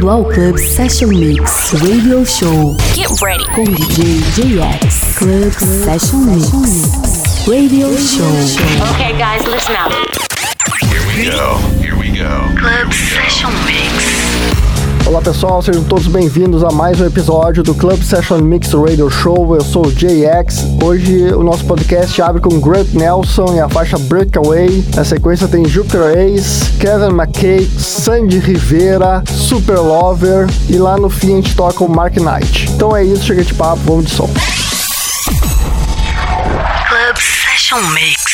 bem-vindo ao Club Session Mix Radio Show. Get ready com DJ JX. Club Session Mix Radio Show. Okay, guys, listen up. Here we go. Club Session Mix. Olá pessoal, sejam todos bem-vindos a mais um episódio do Club Session Mix Radio Show. Eu sou o JX. Hoje o nosso podcast abre com Grant Nelson e a faixa Breakaway. Na sequência tem Jupiter Ace, Kevin McKay, Sandy Rivera, Super Lover e lá no fim a gente toca o Mark Knight. Então é isso, chega de papo, vamos de som. Club Session Mix.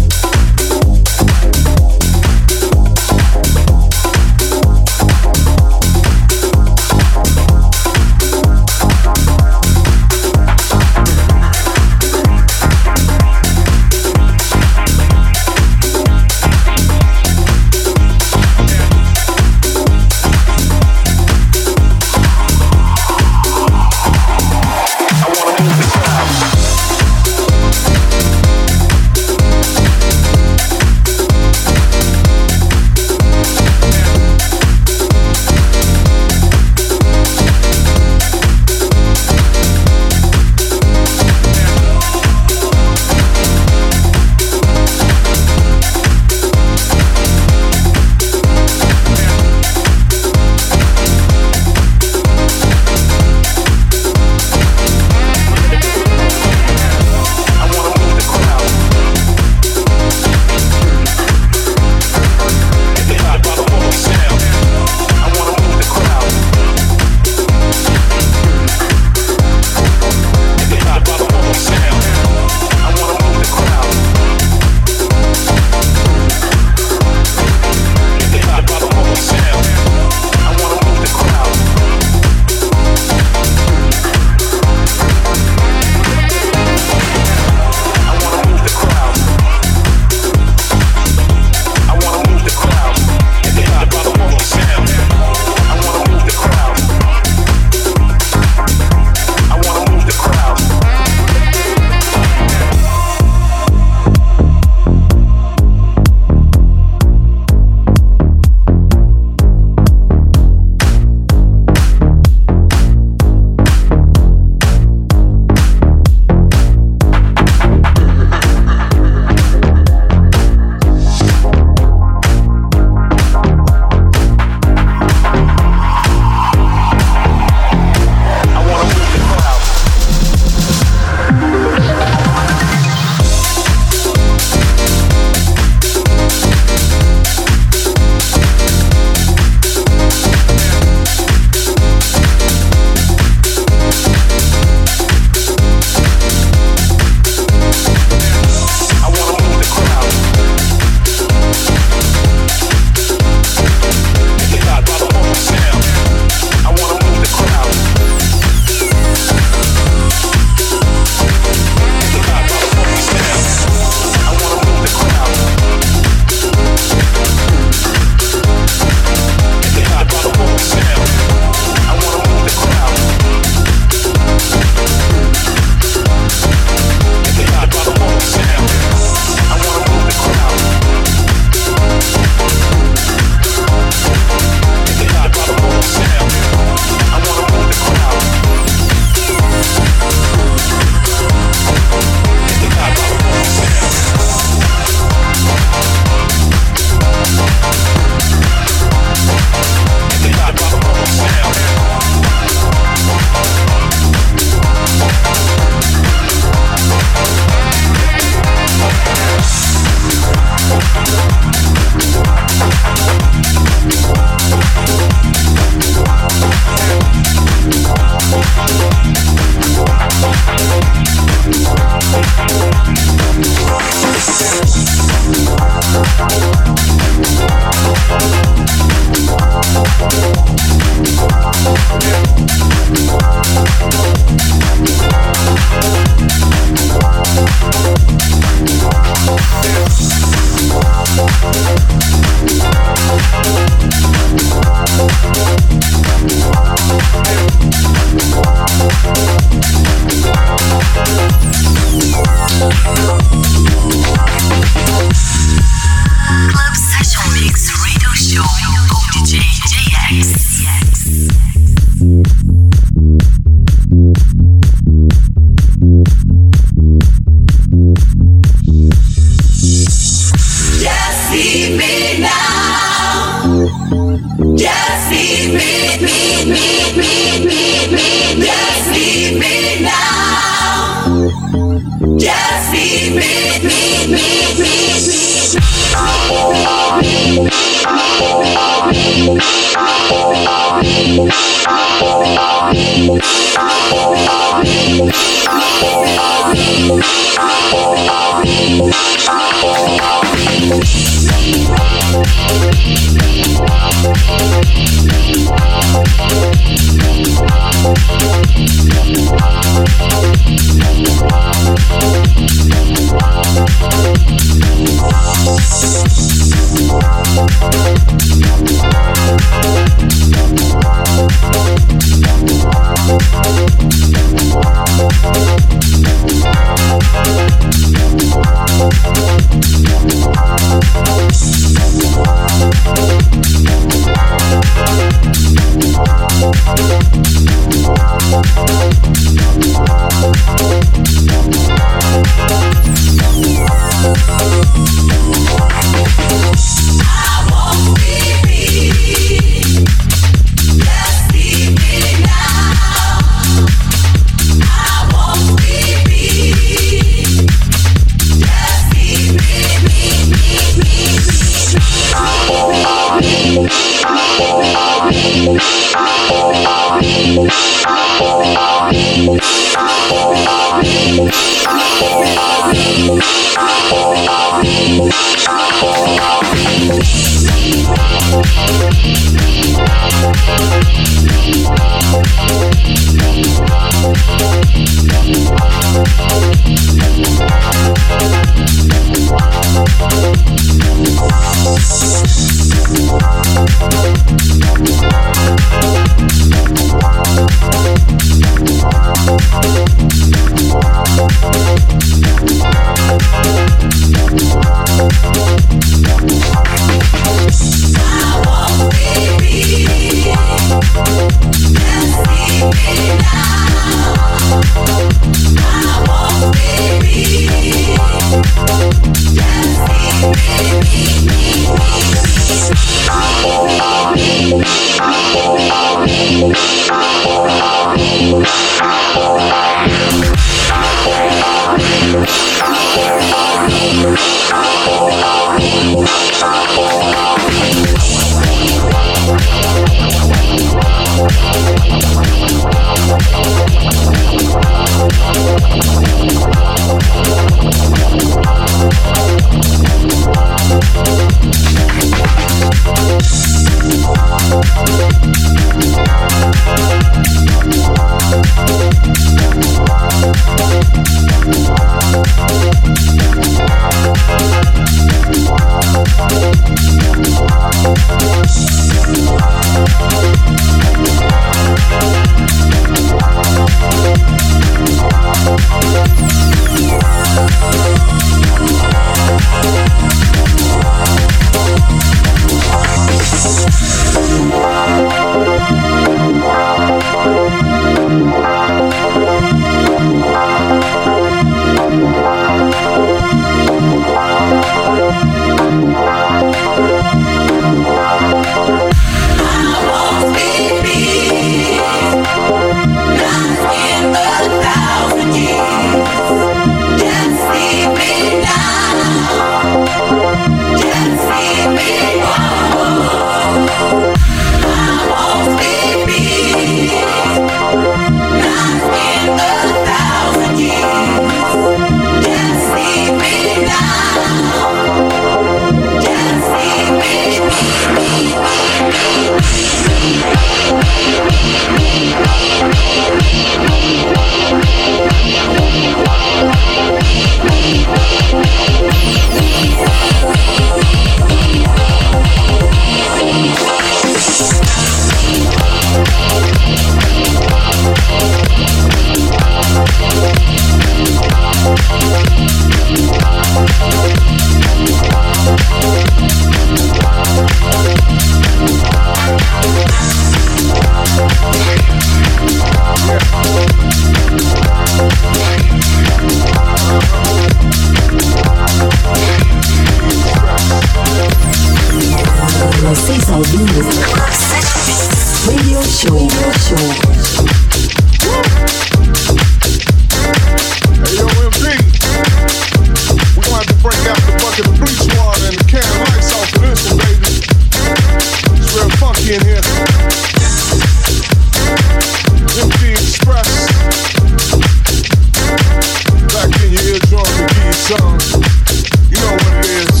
song. You know what it is.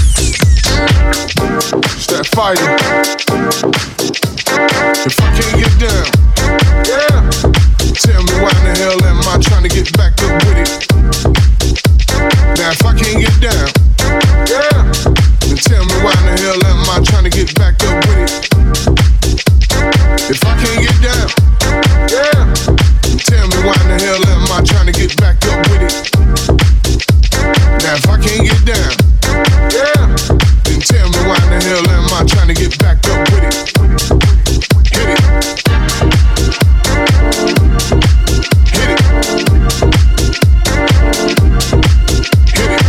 It's that fighting. If I can't get down, yeah, tell me why in the hell am I trying to get back up with it? Now if I can't get down, yeah, then tell me why in the hell am I trying to get back up with it? If I can't get down, yeah, then tell me why in the hell am I trying to get back up with it? Now if I can't get down, yeah, then tell me why in the hell am I trying to get back up with it? Hit it. Hit it. Hit it.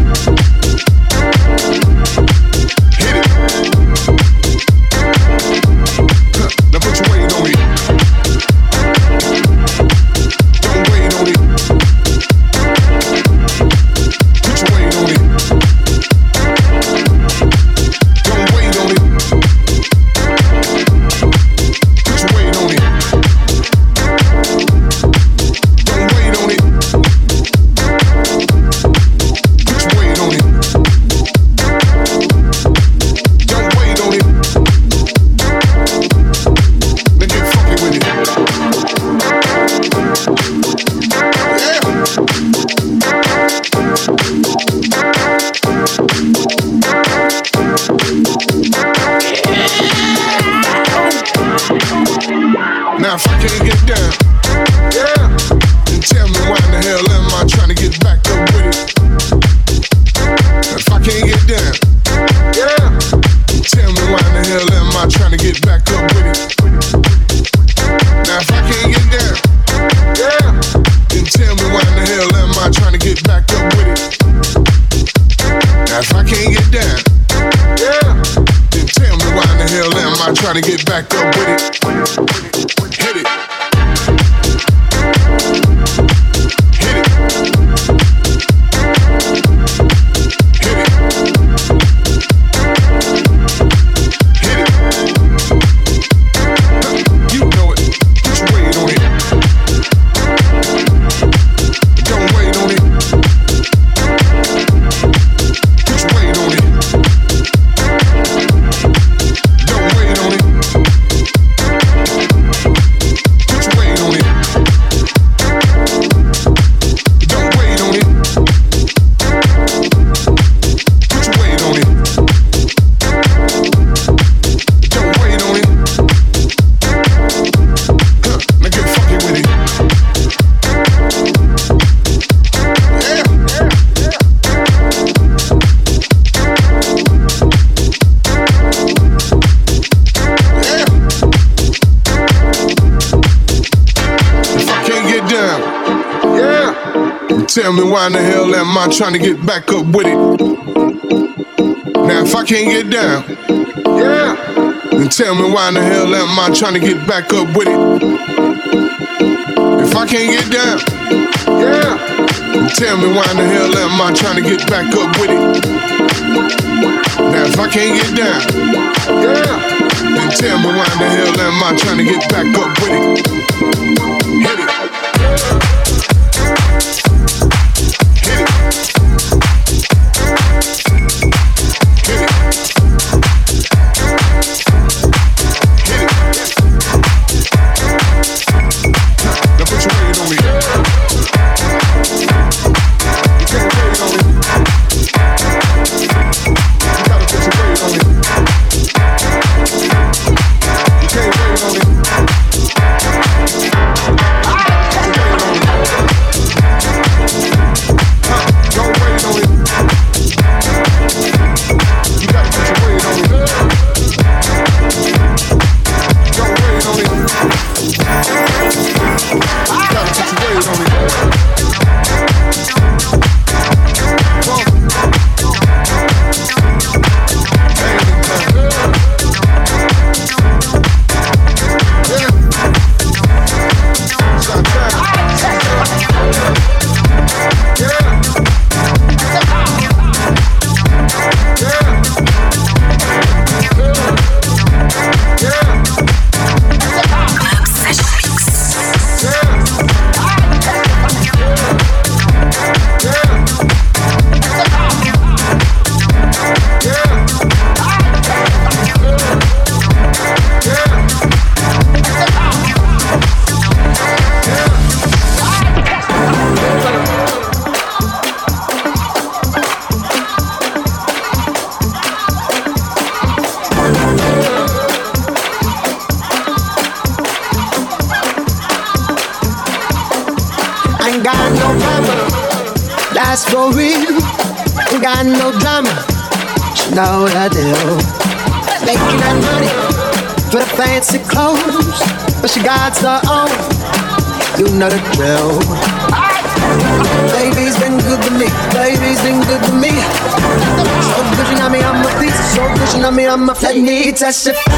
Hit it. Now put your weight on it. Don't wait on it. Put your weight on it. Don't wait on it. Put your weight on it. Don't wait on it. Put your weight on it. Don't wait on it. Then get funky with it. Yeah. Now if I can't get down, yeah, then tell me why in the hell am I trying to get back up with it? If I can't get down, yeah, then tell me why in the hell am I trying to get back up with it? Now if I can't get down, yeah, then tell me why in the hell am I trying to get back up with it? Now if I can't get down, yeah, then tell me why in the hell am I trying to get back up with it? Hit it. Hit it. Hit it. Hit it. You know it. Put your weight on it. Don't wait on it. Put your weight on it. Don't wait on it. Put your weight on it. Don't wait on it. Put your weight on it. Don't wait on it. Now get funky with it. Yeah. Yeah. If I can't get down, yeah, tell me why in the hell am I trying to get back up with it? Now if I can't get down, yeah, then tell me why in the hell am I trying to get back up with it? If I can't get down, yeah, then tell me why in the hell am I trying to get back up with it? Now if I can't get down, yeah, then tell me why in the hell am I trying to get back up with it? Hit it. Hit it. Hit it. Hit it. Now put your weight on me. You can't wait on it. You gotta put your weight on it. You can't wait on it. Put your weight on it. for real. Ain't got no drama. She know what I do. Making that money for the fancy clothes, but she got her own. You know the drill. Baby's been good to me. Baby's been good to me. So good she know me, I'm a piece. So good she know me, I'm a. Let me testify.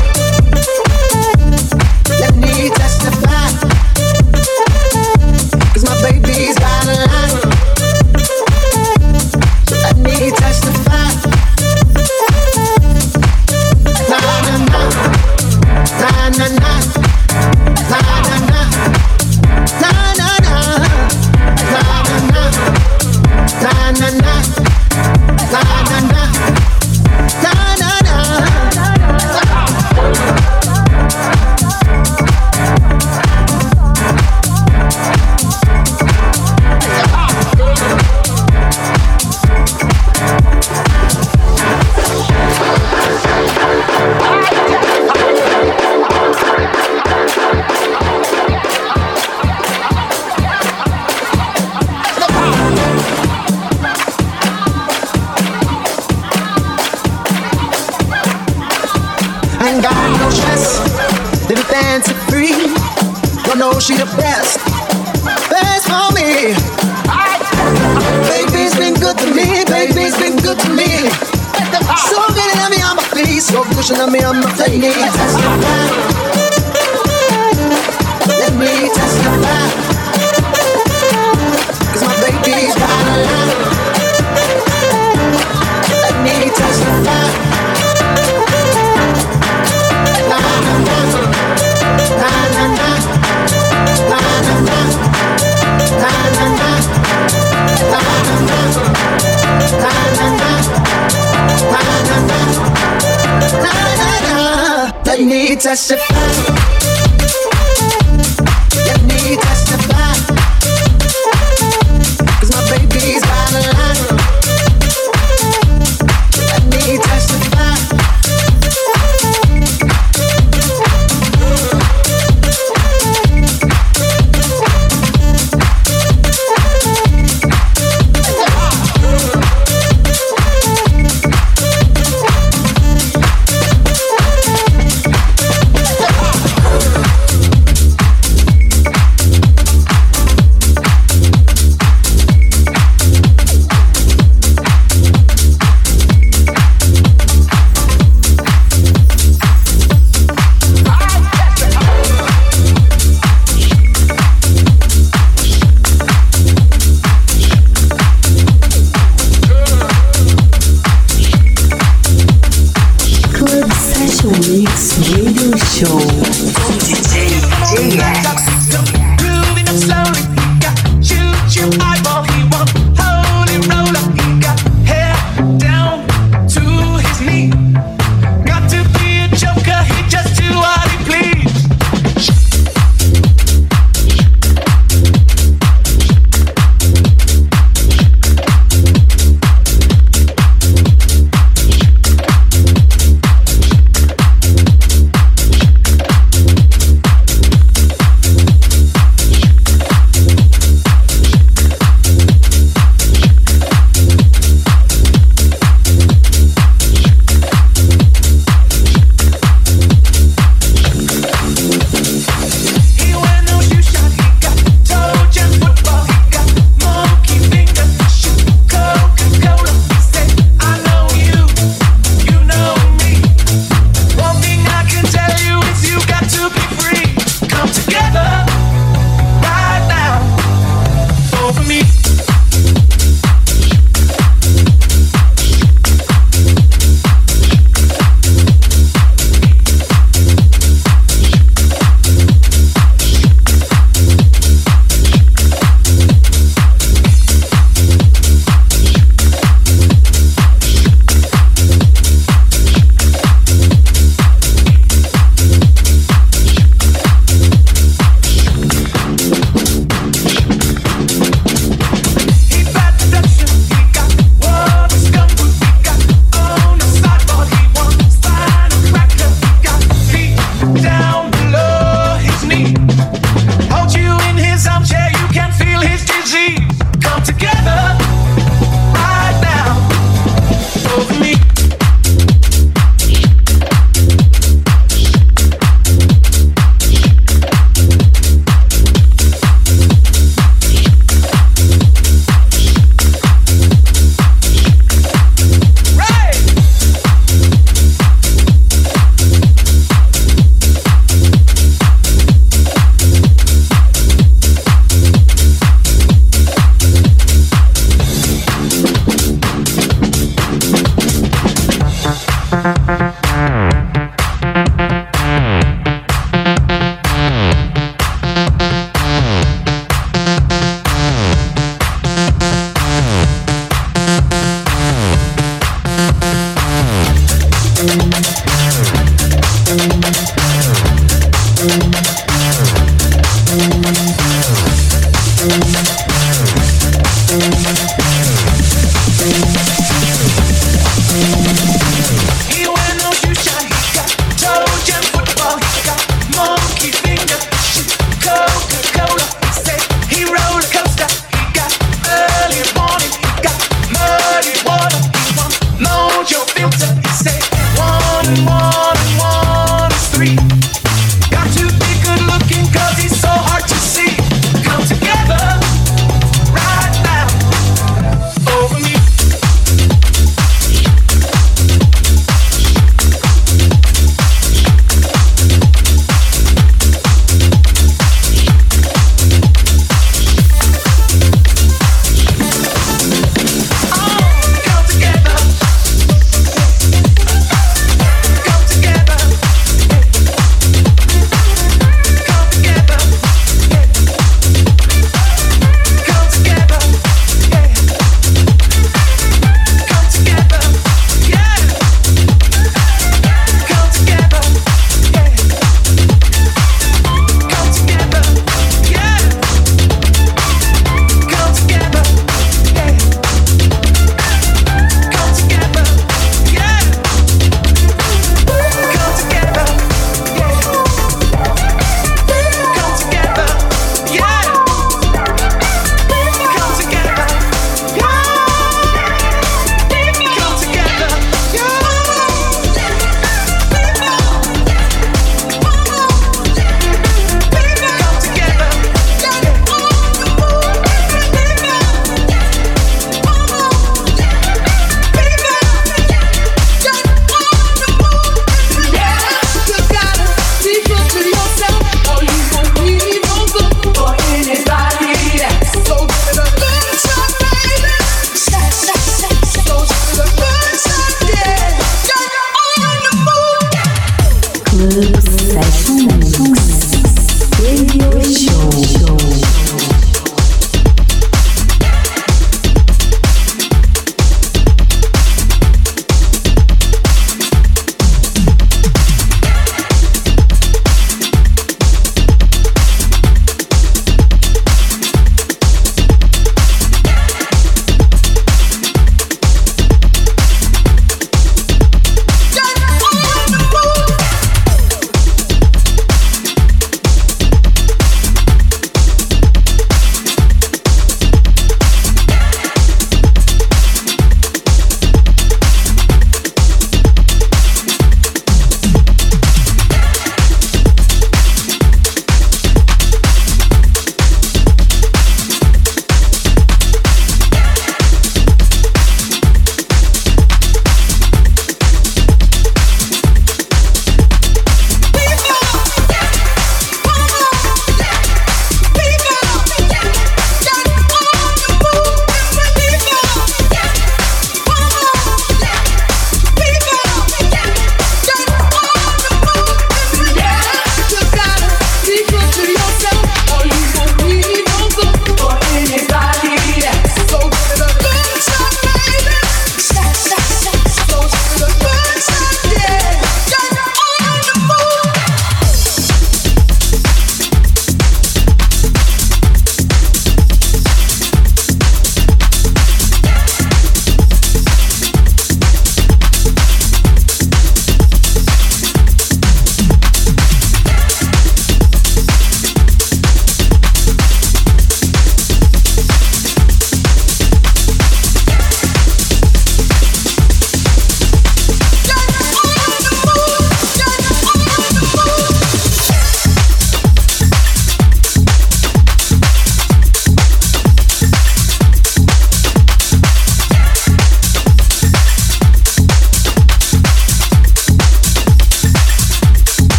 Let me testify. 'Cause my baby's got a line. Let me testify. Na na na, na na na, na na na, na na na, na na na, na na na, na na na, na na na. Ain't got no stress, living fancy free. Don't know she the best, best for me. Baby's been good to me, baby's been good to me. So good at me on my feet, so pushing at me on my feet. Let me testify. Let me testify. 'Cause my baby's got a line. Let me testify. Na na na, na na na, na na na, na na na, na na na, na na na, na na na, na na na. Let me testify. Let me testify. 'Cause my baby's got a line. Let me testify.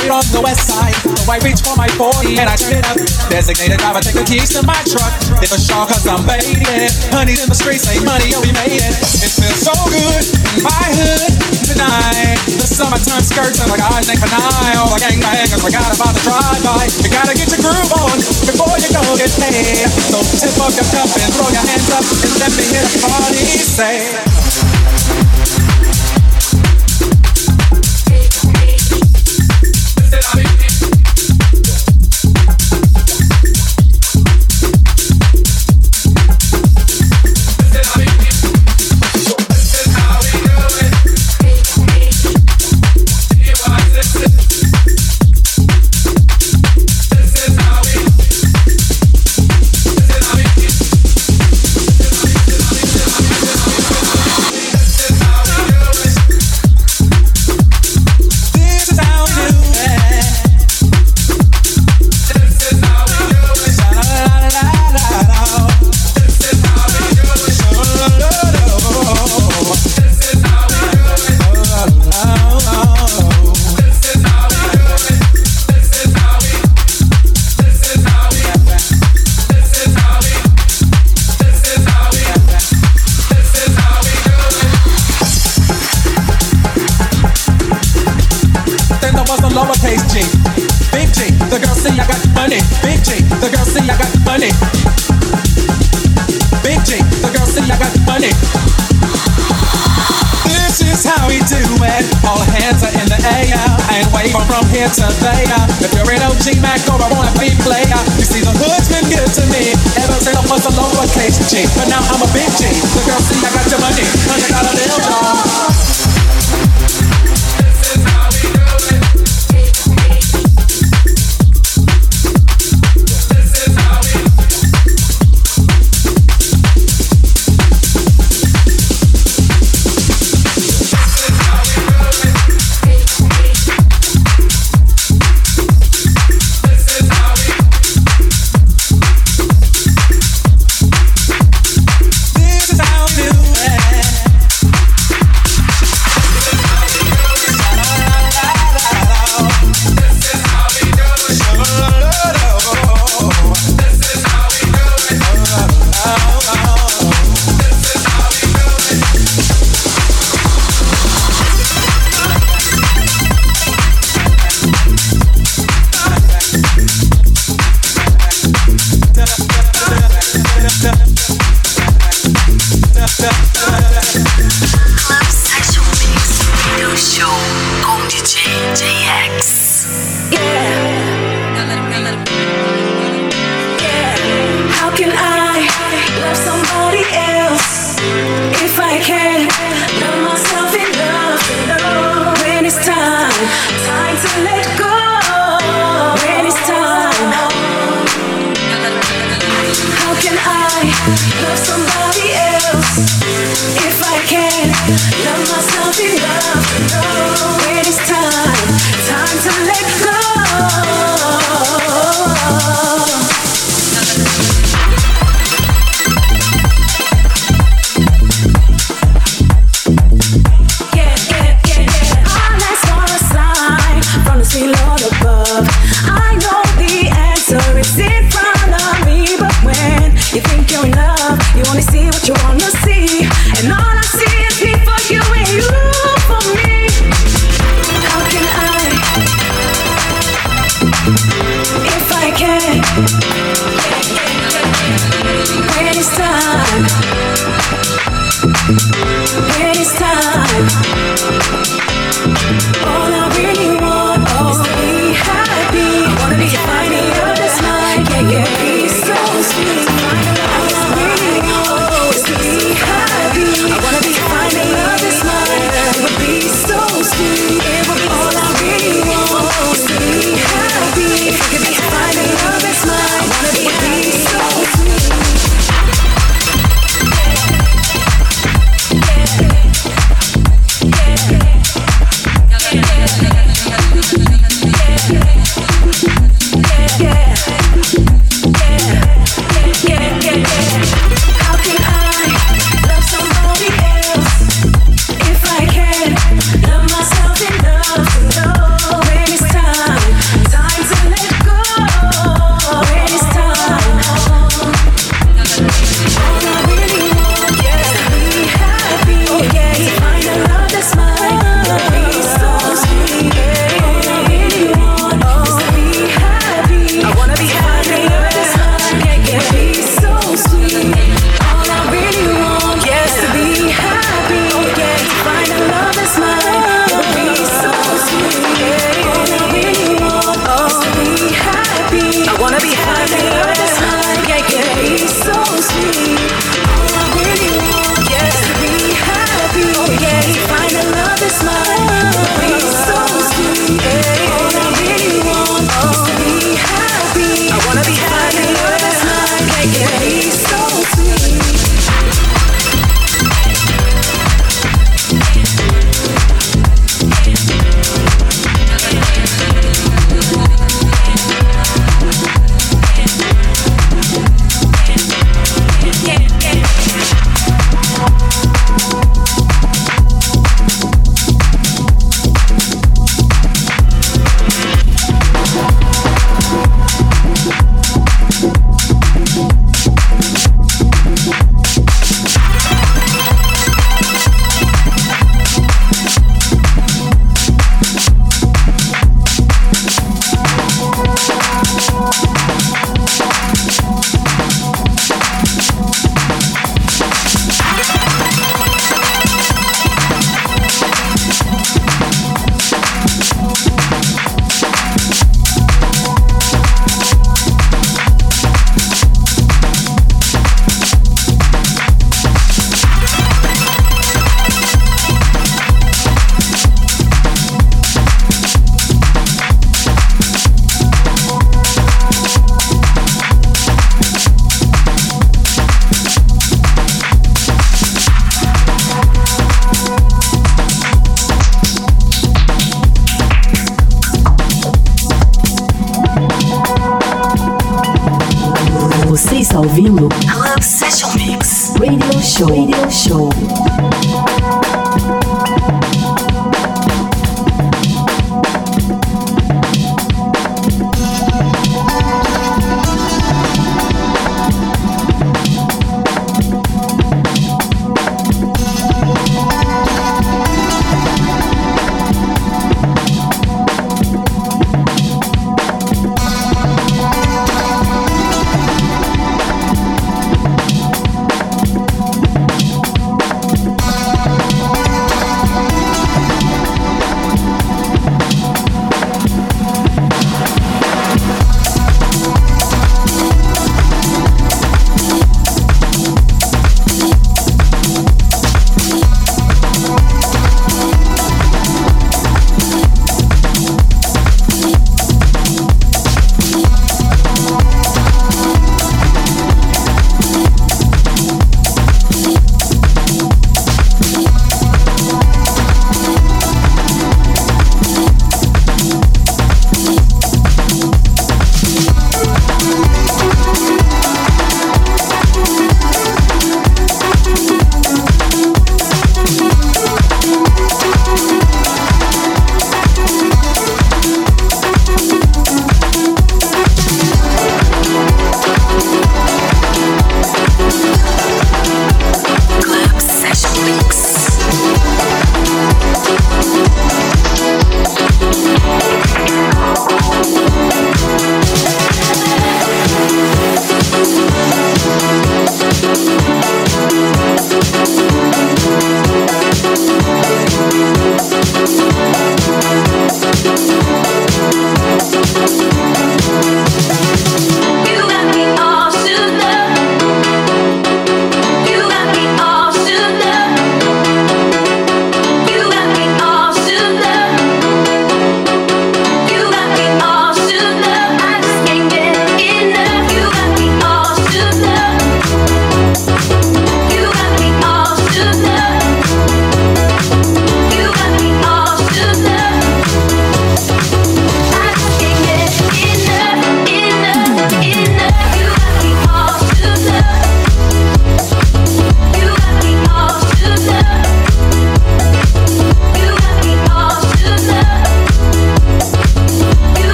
Straight on the west side, so I reach for my 40 and I turn it up. Designated driver, take the keys to my truck. It's a shock cause I'm faded. Honey's in the streets, say money, oh we made it. It feels so good in my hood tonight. The summertime skirts and the guys ain't canine. All the gangbangers forgot about the drive-by. You gotta get your groove on before you go get paid. So tip up your cup and throw your hands up and let me hear the party say. From here to there, if you're an OG Mac or a wannabe player, you see the hood's been good to me ever since I was a lowercase G. But now I'm a big G. The girls see I got your money, $100 bill, dog. This is how we do it. This is how we. I wanna be está ouvindo Club Session Mix. Radio Show. Radio Show.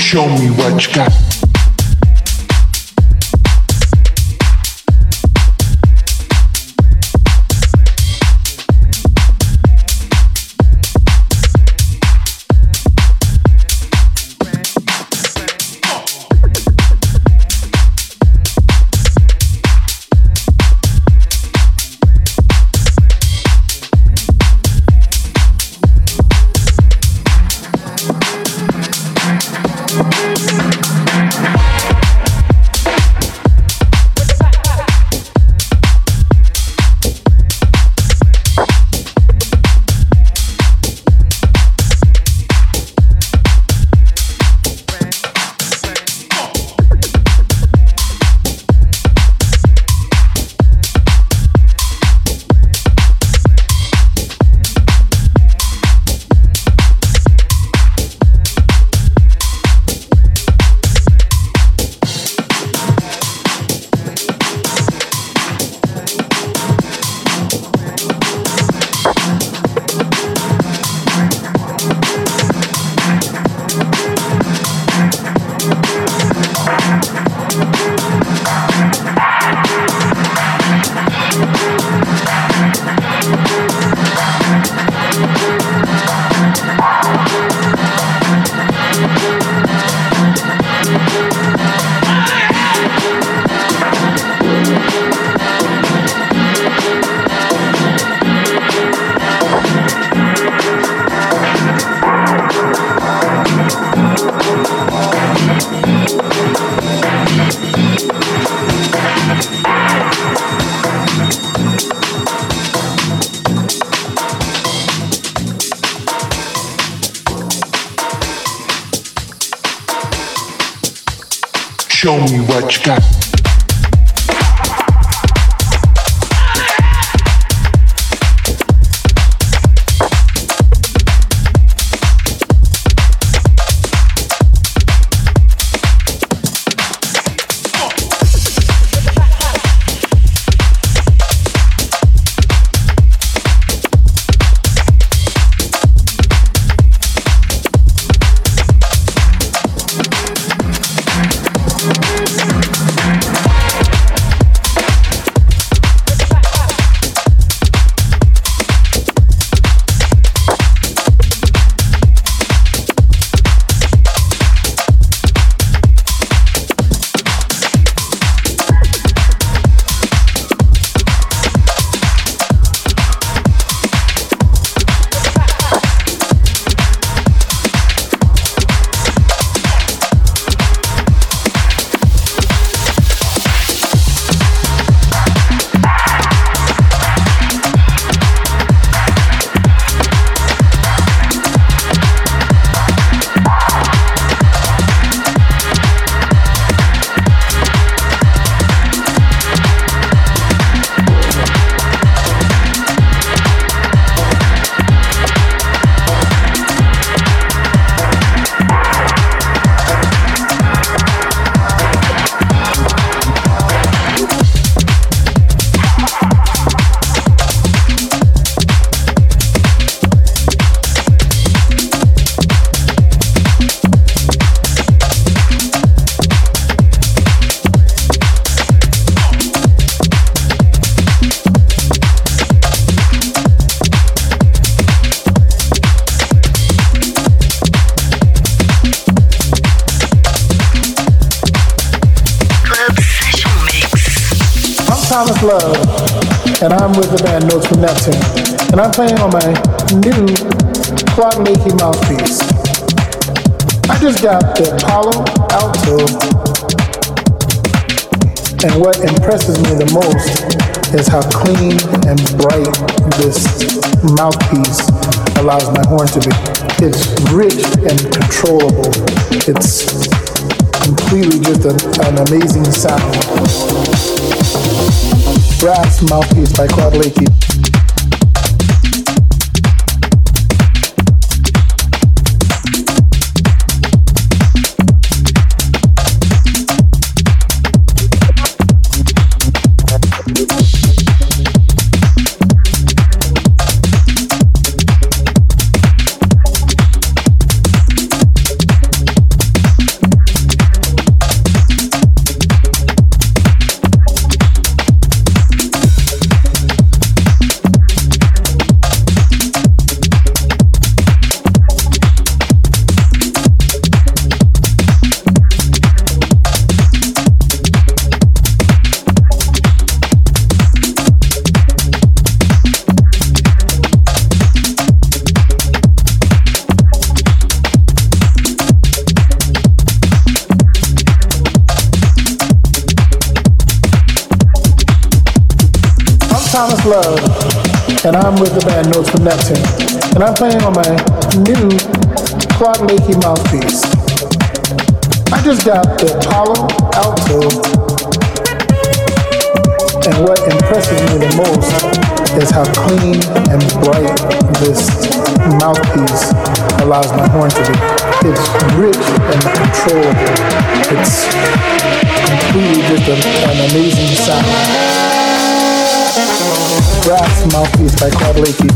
Show me what you got. Show me what you got. Thomas Love, and I'm with the band Notes from Neptune, and I'm playing on my new Clark Leahy mouthpiece. I just got the Apollo Alto, and what impresses me the most is how clean and bright this mouthpiece allows my horn to be. It's rich and controllable. It's completely just an amazing sound. Brass mouthpiece by Claude Leahy. Love, and I'm with the band Notes from Neptune, and I'm playing on my new Claude Lakey mouthpiece. I just got the Apollo Alto, and what impresses me the most is how clean and bright this mouthpiece allows my horn to be. It's rich and controllable. It's completely just an amazing sound. Brass mouthpiece by Claude Lakey.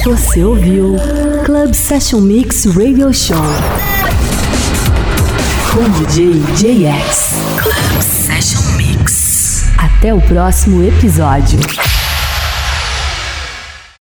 Você ouviu Club Session Mix Radio Show com DJ JX. Club Session Mix. Até o próximo episódio.